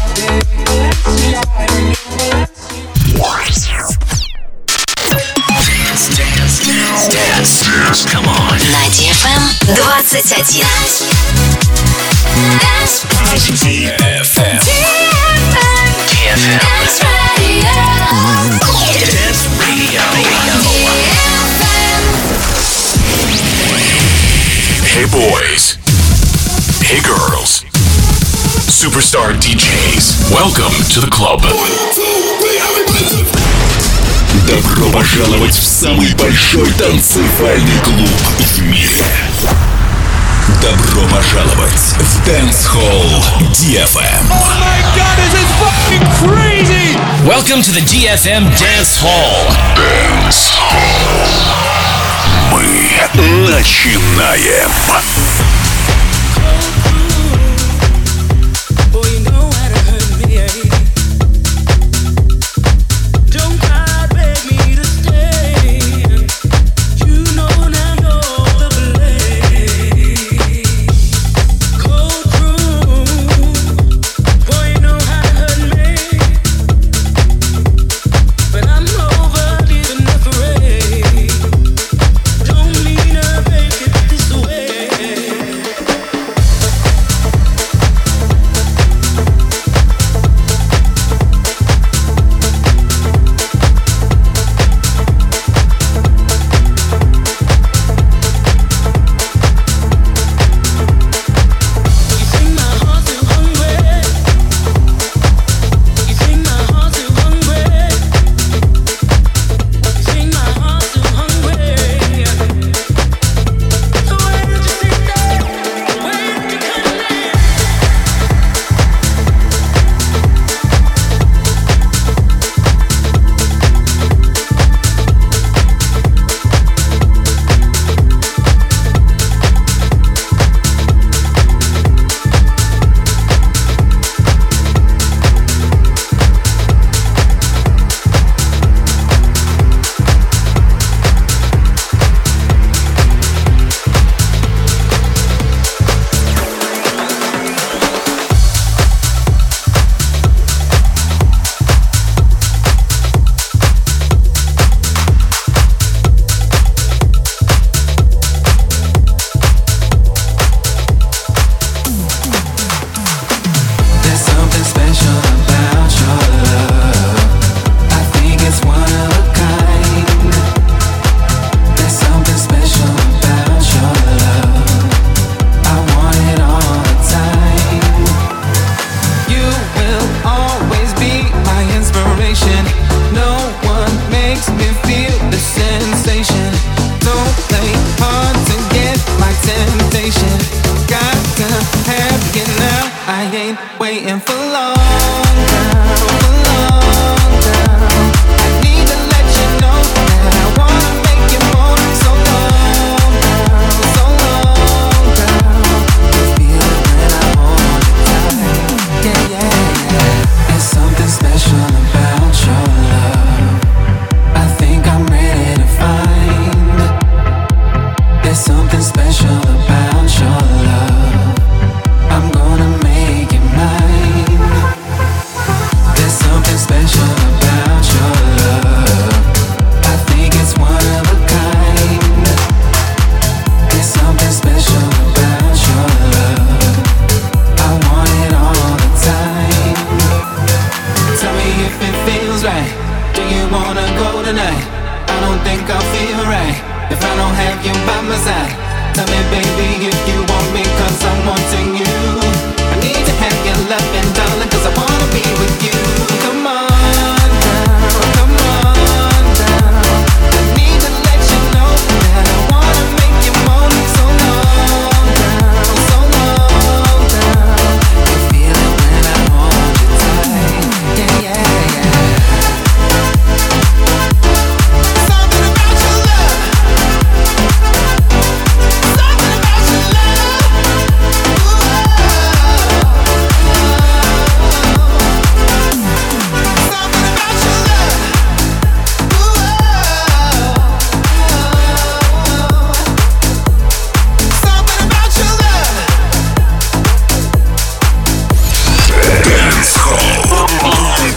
Come on. На DFM 21. DFM. Dance Radio. Hey boys. Hey girls. Superstar DJs. Welcome to the club. Добро пожаловать в самый большой танцевальный клуб в мире. Добро пожаловать в Dance Hall DFM. Oh my god, this is fucking crazy! Welcome to the DFM Dance Hall. Dance Hall. Мы начинаем.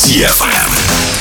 DFM.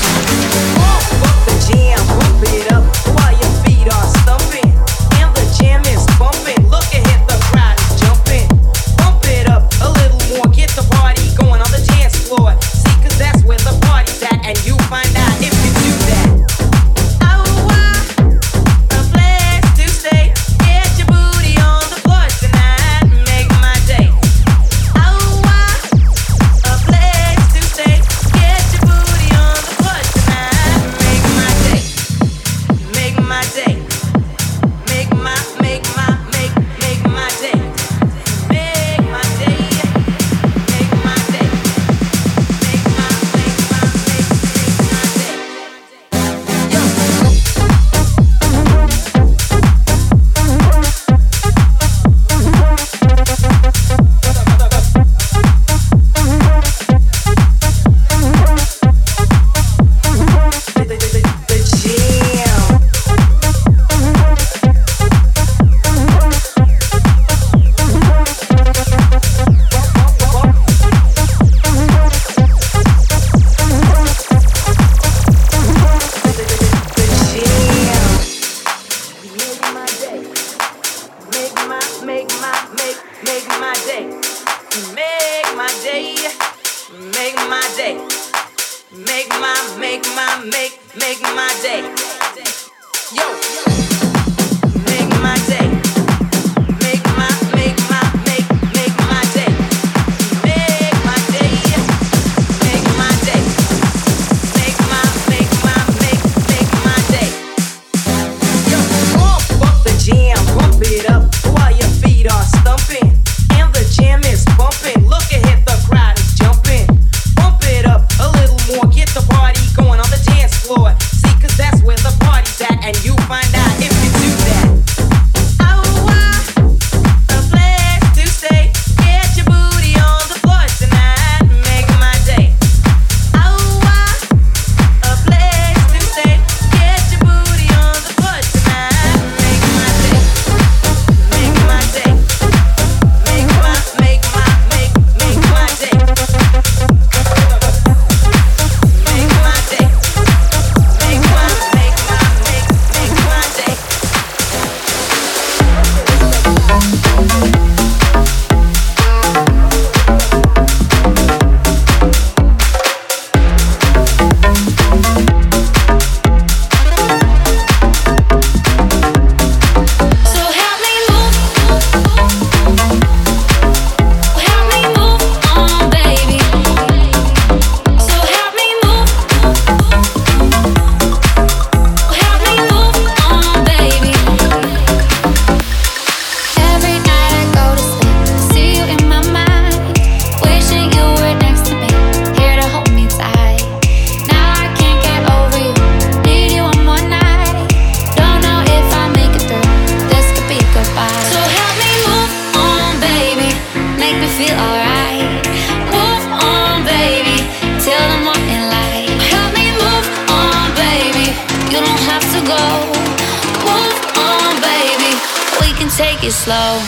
Take it slow.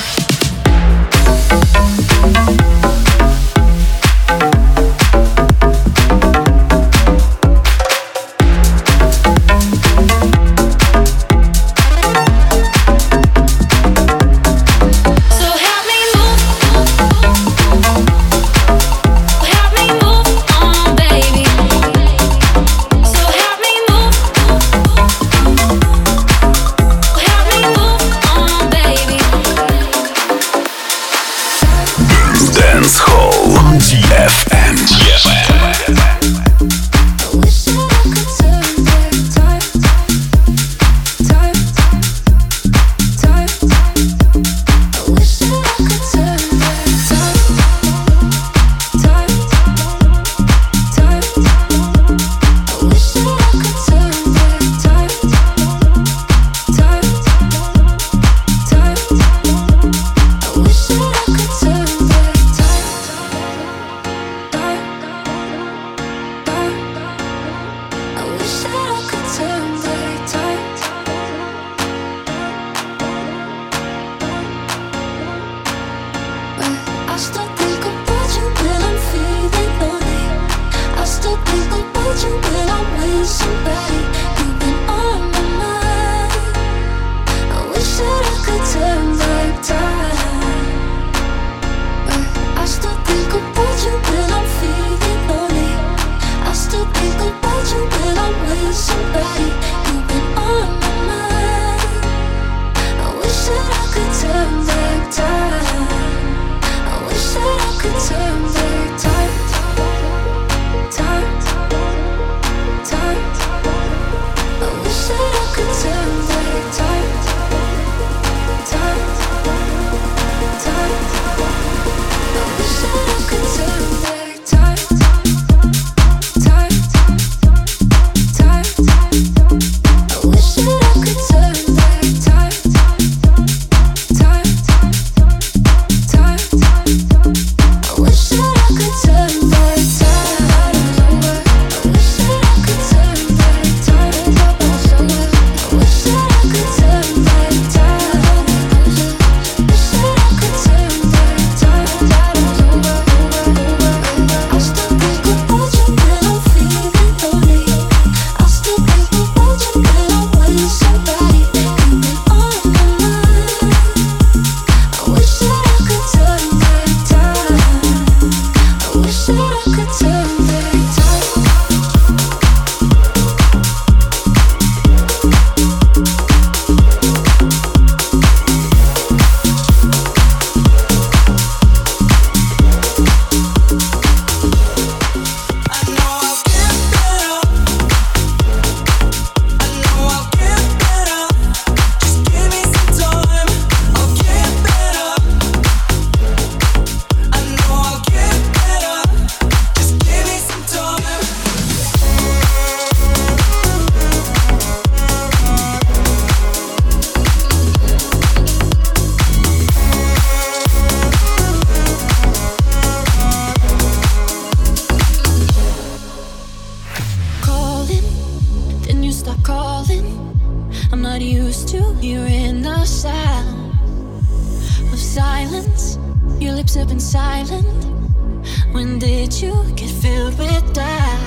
lips have been silent. When did you get filled with doubt?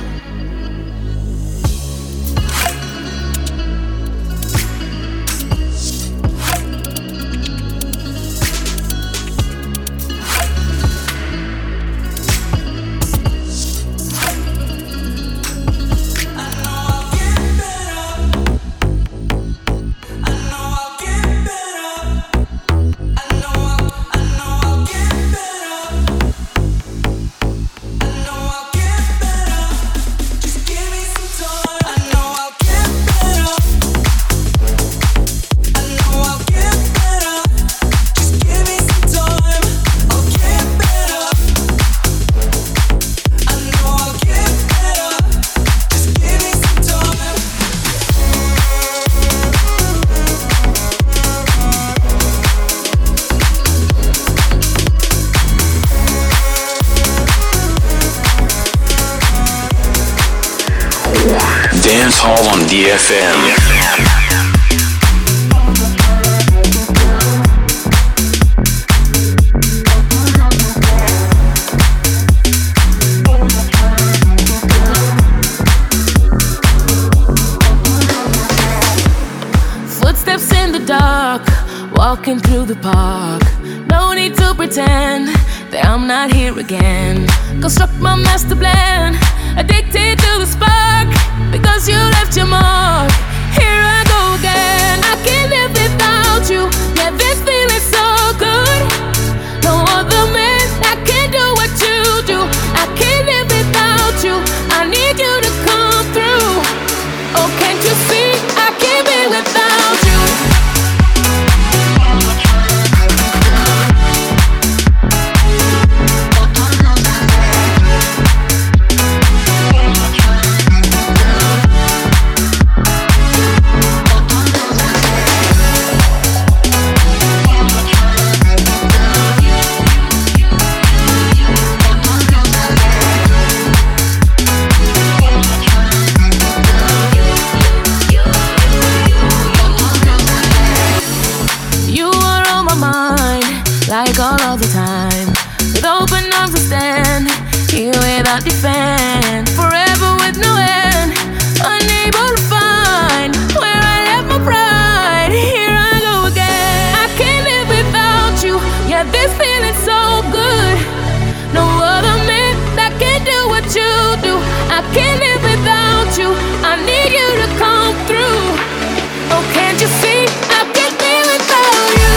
Dance Hall on DFM. Footsteps in the dark, walking through the park. No need to pretend that I'm not here again. Construct my master plan, addicted to the spark, because you left your mark. Here I go again. I can't live without you. Yeah, this feeling so good. No other man that can do what you do. I can't live without you. I need you to come through. Oh, can't you see? I can't be without you. Like all of the time, with open arms I stand here without defense, forever with no end, unable to find where I left my pride. Here I go again. I can't live without you. Yeah, this feeling's so good. No other man that can do what you do. I can't live without you. I need you to come through. Oh, can't you see? I can't be without you.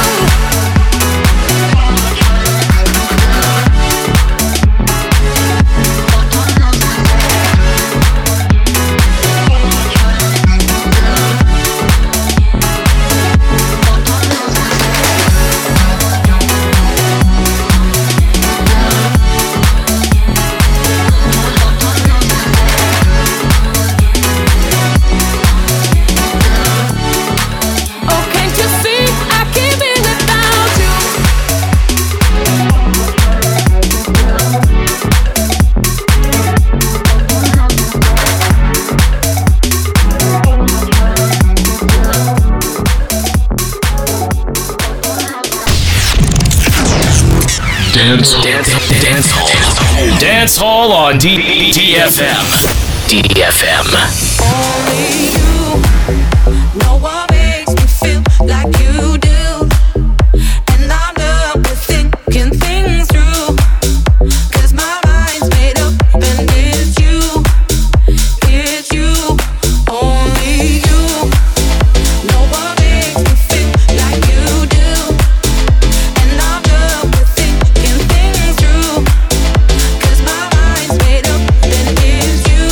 Dance Hall on DFM. DFM. Only you know what makes me feel like you do. And I'm done with thinking things through. 'Cause my mind's made up and it's you. It's you. Only you know what makes me feel like you do. And I'm done with thinking things through. 'Cause my mind's made up and it's you.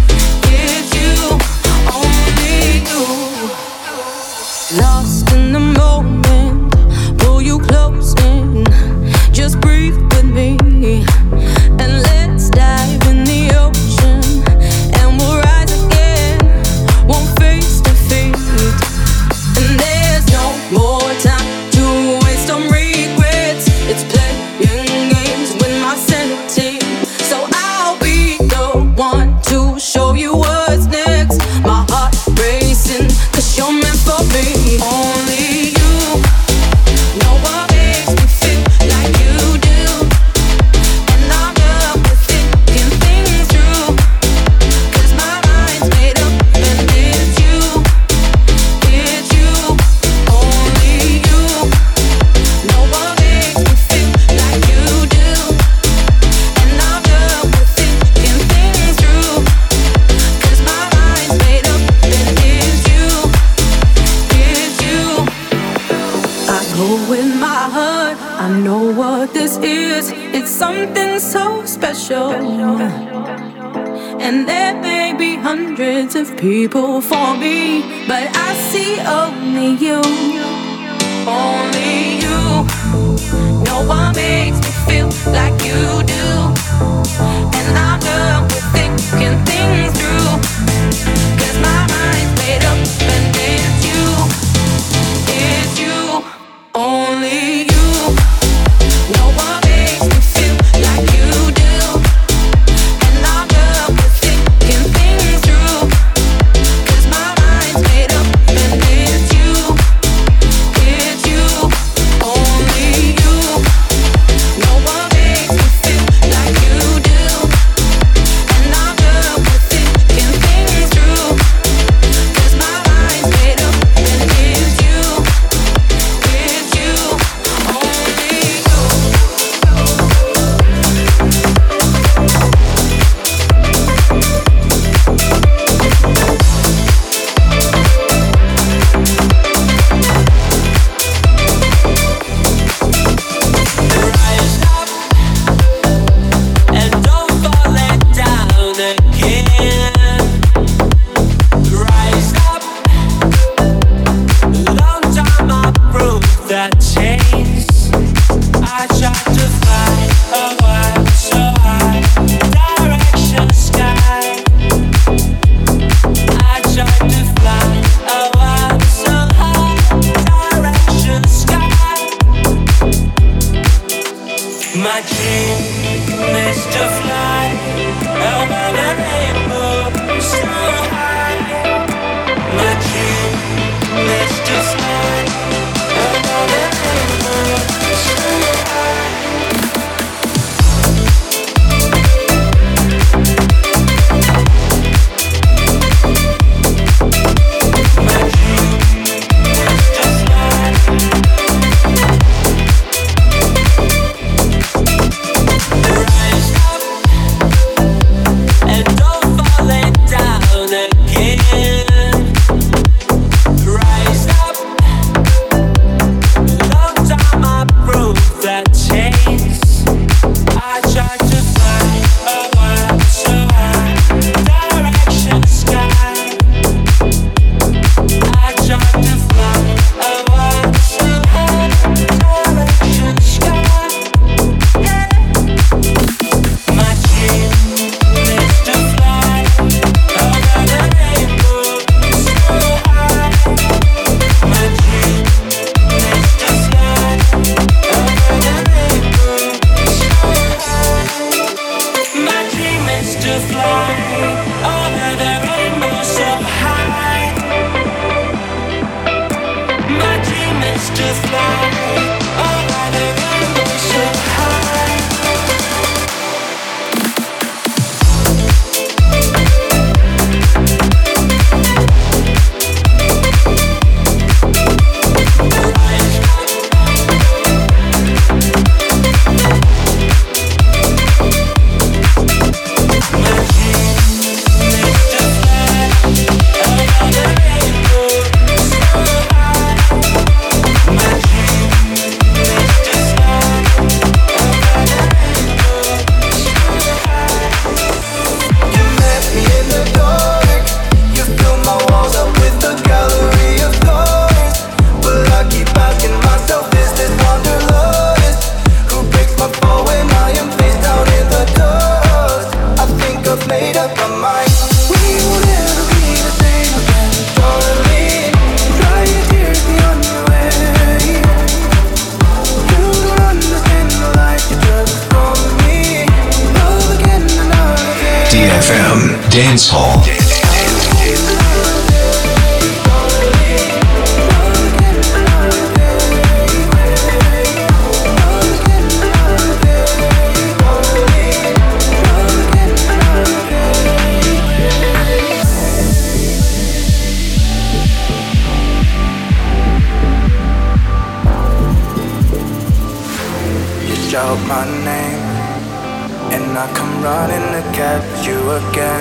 It's you. Only you. Lost in the what this is. It's something so special. And there may be hundreds of people for me, but I see only you. Only you. No one makes me feel like you do. And I'm done with thinking things through. 'Cause my mind's made up and it's you. It's you. Only you. No one makes me feel like you do. And I'm done with thinking things through. 'Cause my mind's made up and it's you. It's you. Only you. No one makes me feel like you do. And I'm done with thinking things through. 'Cause my mind's made up and it's you. It's you. Only you. Rise up and don't fall it down again. Rise up, long time I proved that change. I tried to fly a while so high, direction sky. I tried to fly a while so high, direction sky. My dream is to fly over the rainbow so high. My dream is to fly over the rainbow so high. My dream is to fly. Rise up and don't fall it down again. Rise up, long time I proved that change. I tried to fly a while so high, direction sky. I tried to fly a while so high, direction sky. My dream is to fly over the rainbow so high. My dream is to fly over the rainbow so high. My dream is to fly over the rainbow so high. My dream is to fly over the rainbow so high. DFM Dance Hall. Shout my name, and I come running to catch you again.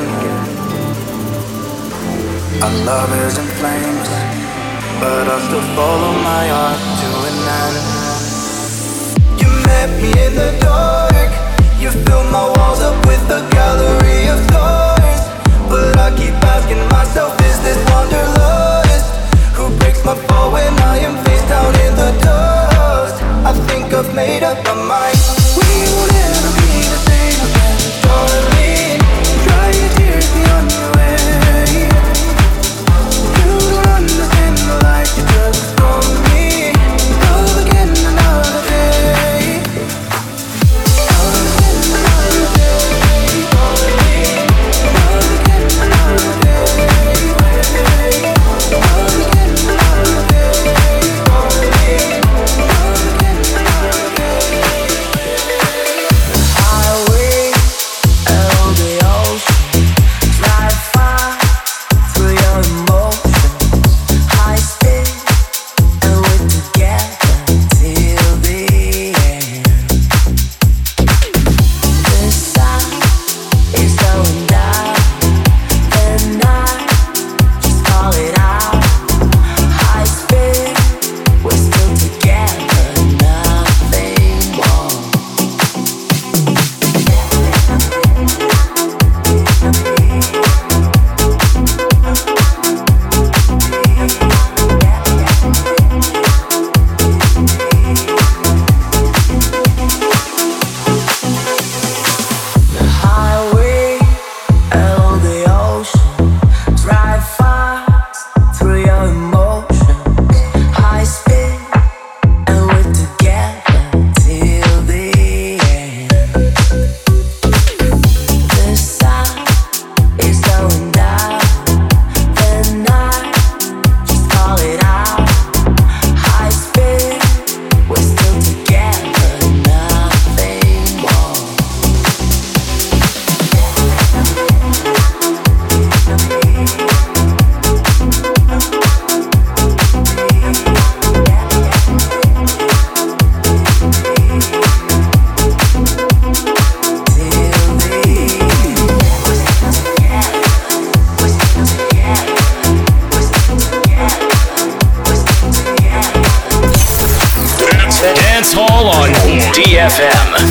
Our love is in flames, but I'll still follow my heart to an end. You left me in the dark. You filled my walls up with a gallery of stars. But I keep asking myself, is this wanderlust? Who breaks my fall when I am face down in the dust? I think I've made up my mind. We will never be the same again, darling. Dry your tears, be on your way. You don't understand the life you took from me. Love again another day. Love again another day, darling. Love again another day. Love again another day, darling. Love again another day. Highway along the ocean, drive far through your emotions, high speed, and we're together till the end. The sun is going down, and I just call it out. High speed, we're still together, nothing more. The highway along the ocean, drive fast through your emotions, high speed, and we're together till the end. The sun is going down, the night just call it out. High speed, we're still together, nothing more. Dance Hall on DFM.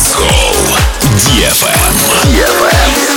Dance Hall DFM.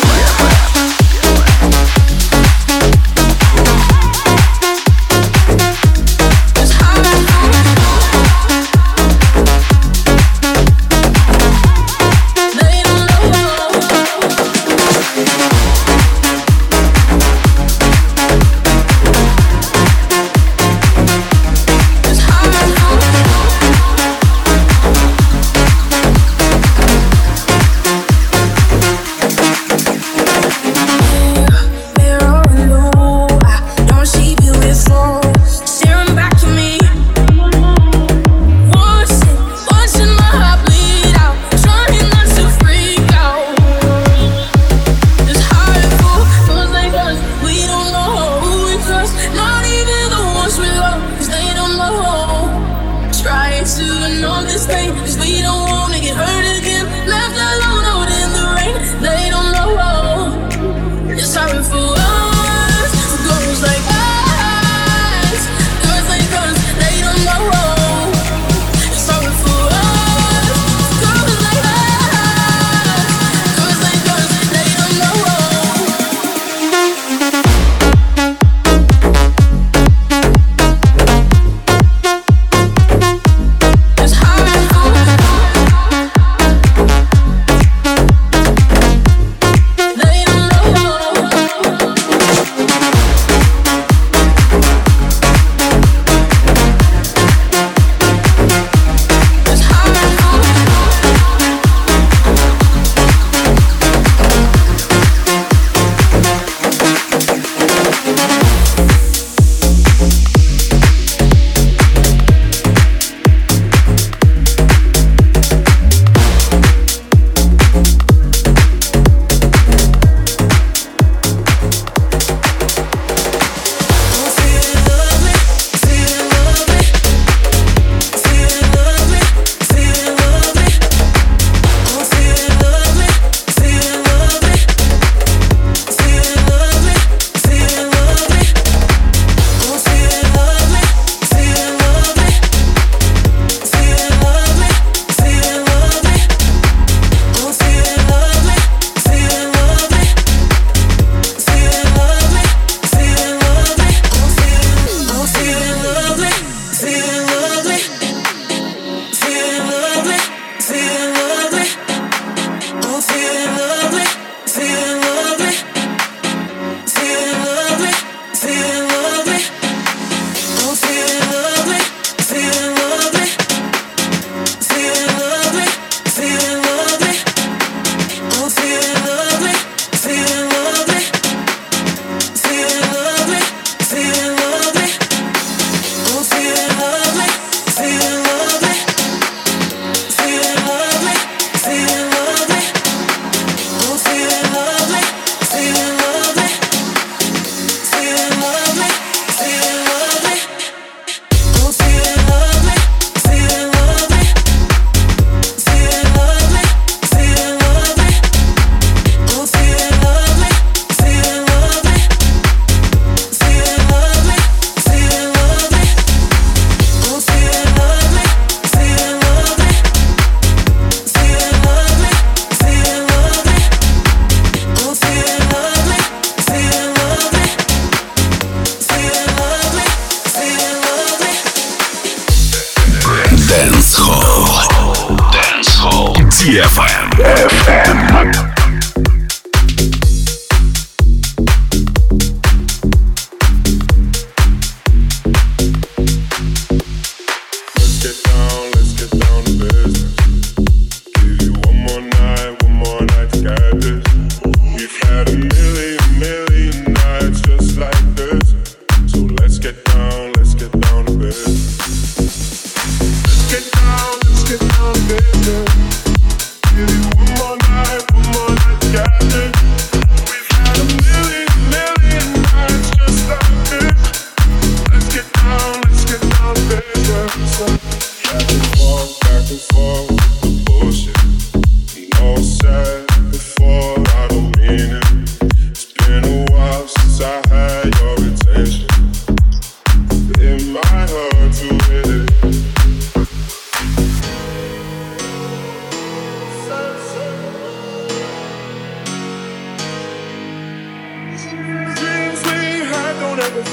DFM.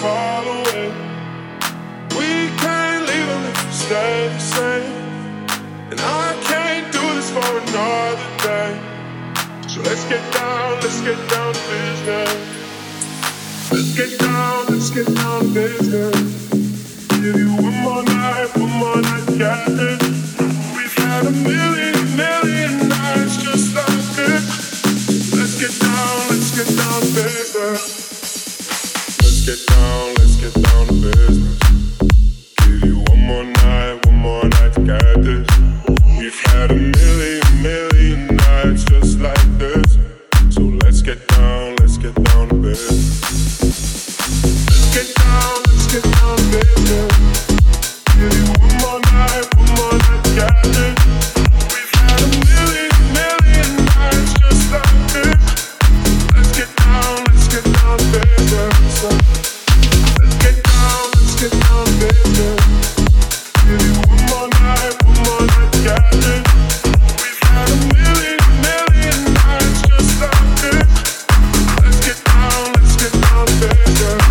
fall away. We can't leave them if we stay the same. And I can't do this for another day. So let's get down to business. Let's get down to business. Give you one more night, got this. We've had a million nights just like this. Let's get down to business. Let's get down to business. Give you one more night, got this. We've had a million nights just like this. So let's get down to business. Let's get down to business. Give you one more night, got this. We've had a million nights just like this. Let's get down to business. Let's get down to business. Give you one more night, got this. We've had a million nights just like this. Let's get down to business.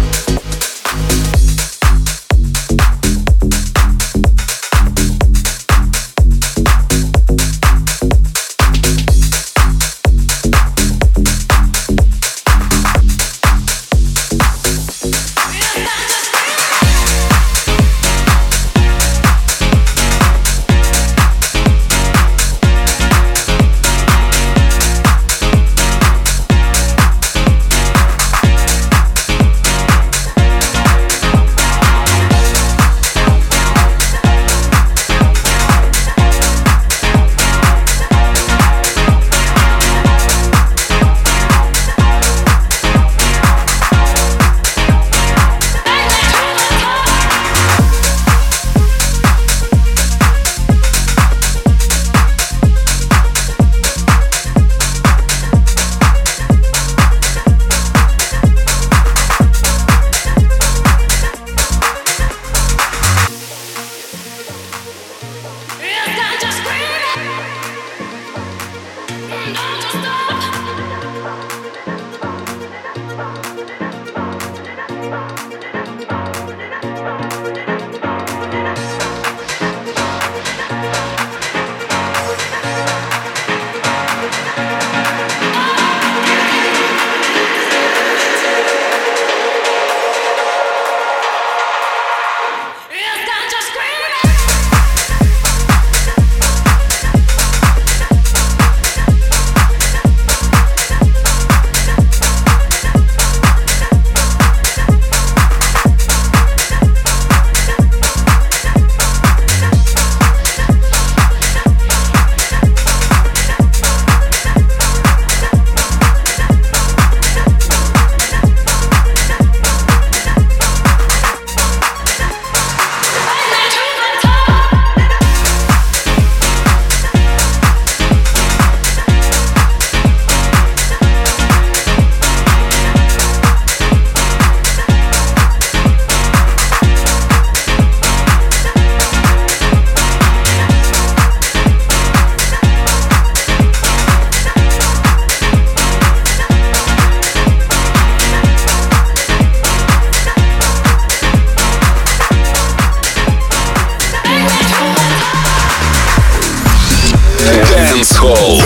Dancehall.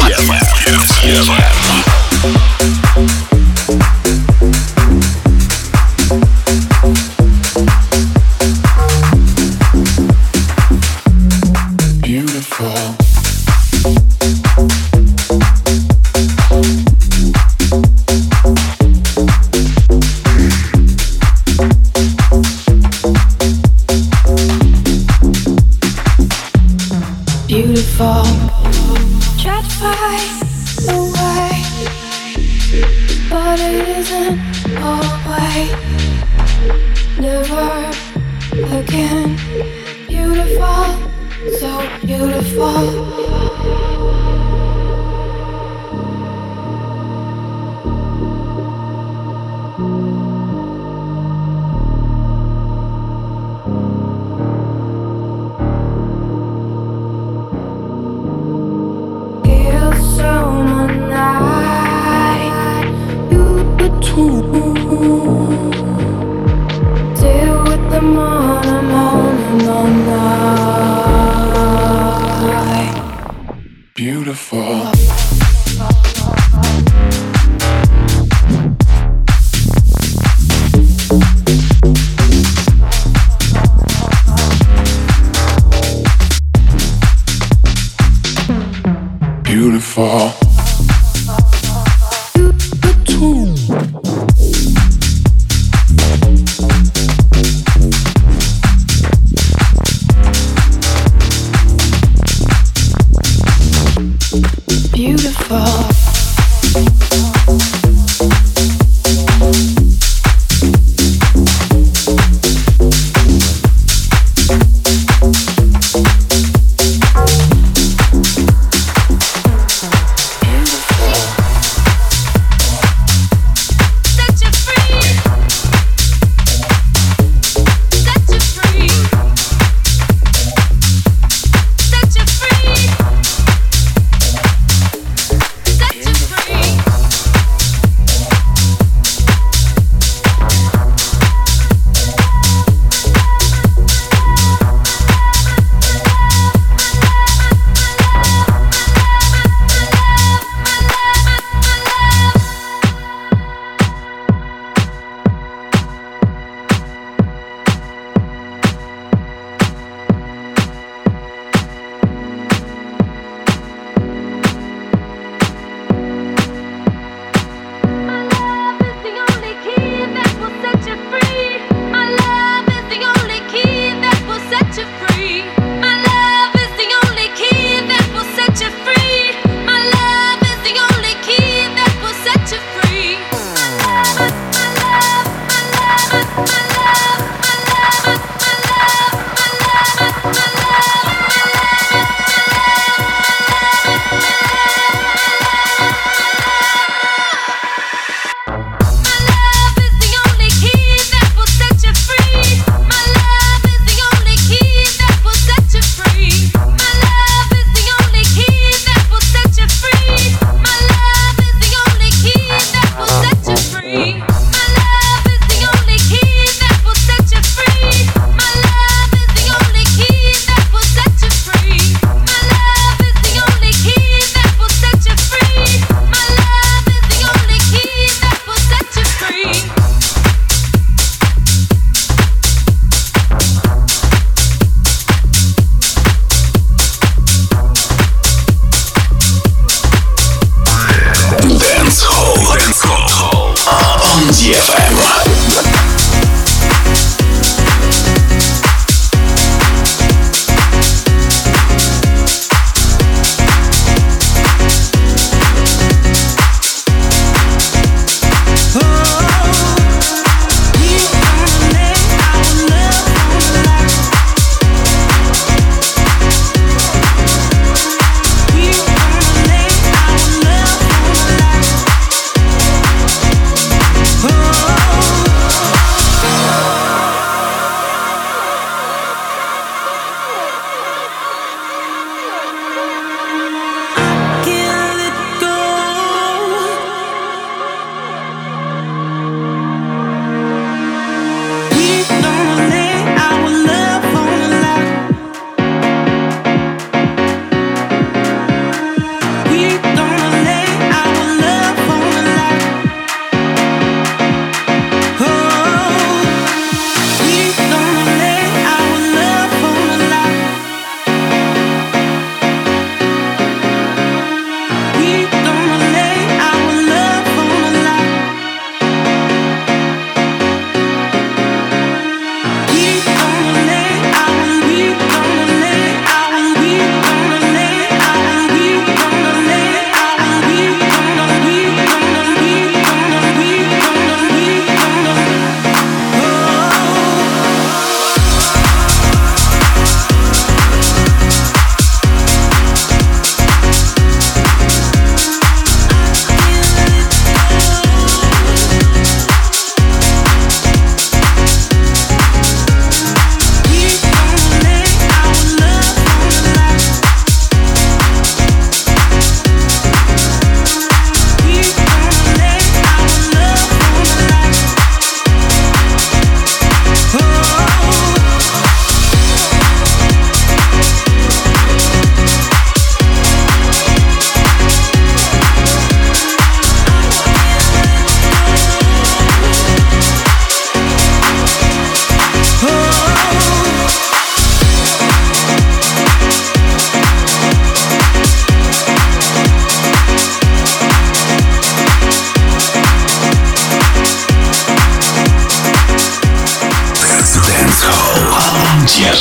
Beautiful. Try to find a way, but it isn't always. Never again. Beautiful, so beautiful. beautiful. Beautiful. Oh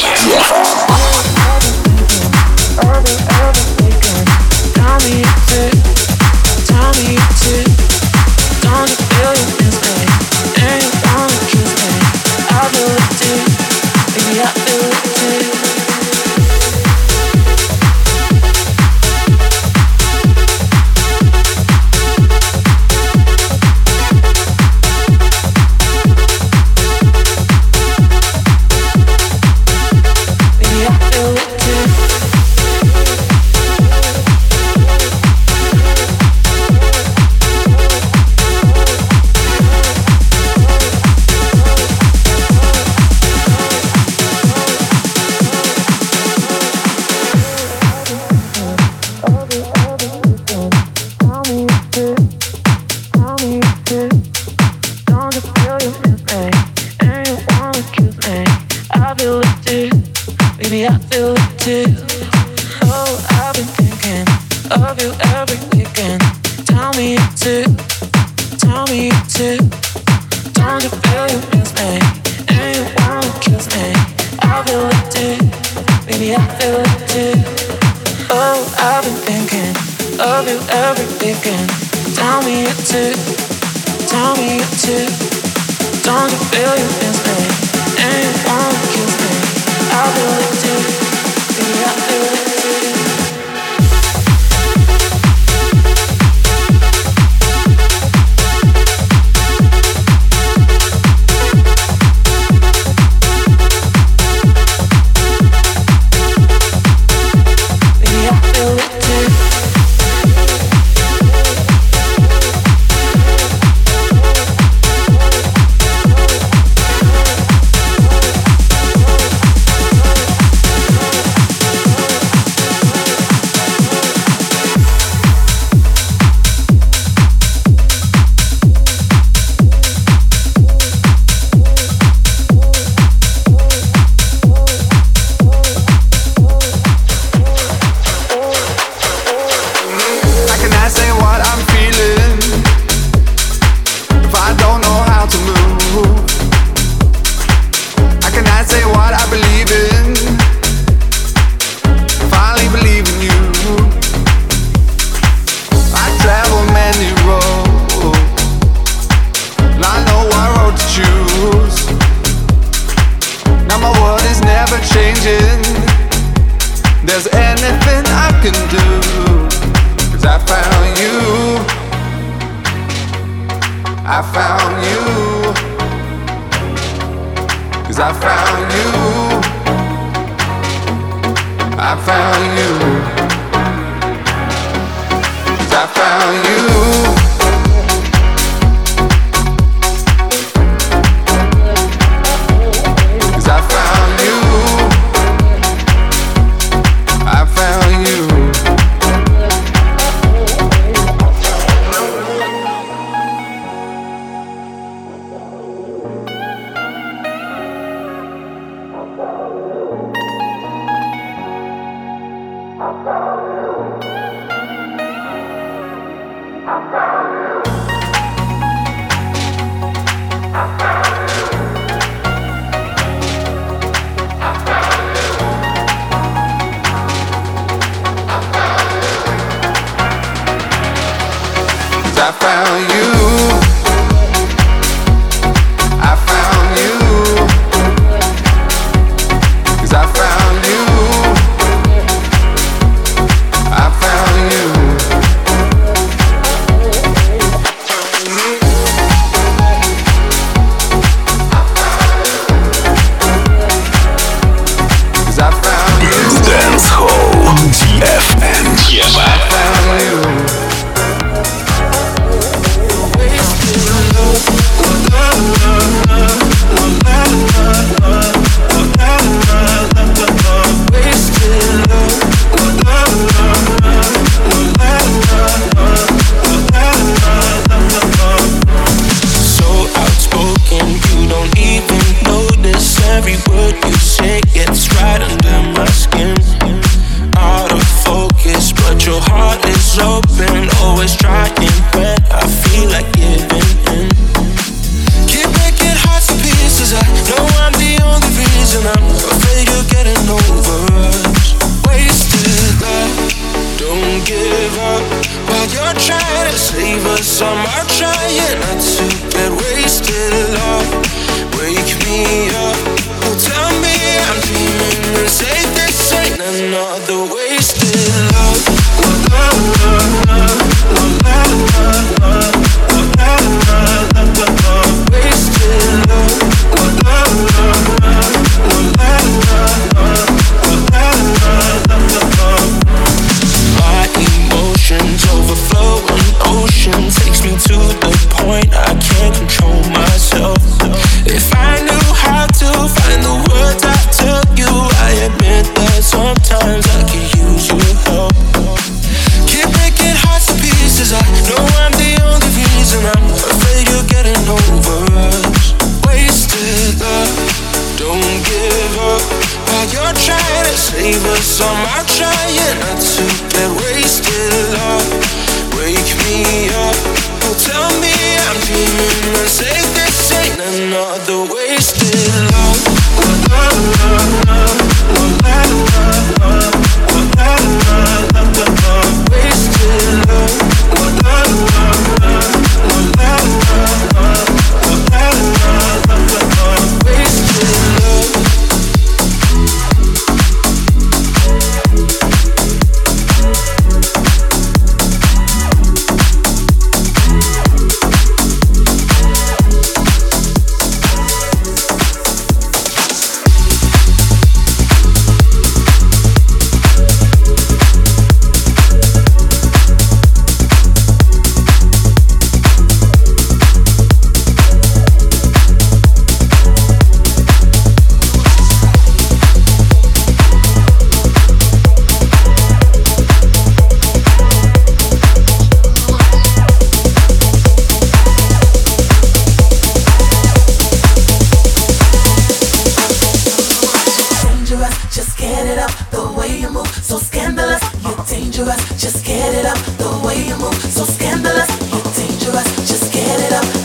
Know I'm the only reason I'm afraid you'll get trying to save us, I'm out trying not to get wasted. Love, wake me up. Oh, tell me I'm dreaming and say this ain't another wasted love. Wasted love. My emotions overflow, an ocean takes me to the point I can't control myself. If I knew how to find the words I tell you, I admit that sometimes I could use your help. Keep breaking hearts to pieces, I know I'm the only reason. I'm afraid you're getting over us. Wasted love, don't give up. While you're trying to save us, I'm out trying not to get wasted. Love, wake me up. Oh, tell me I'm dreaming and say this ain't another wasted love. Wasted dangerous, just get it up. The way you move, so scandalous. You're dangerous, just get it up.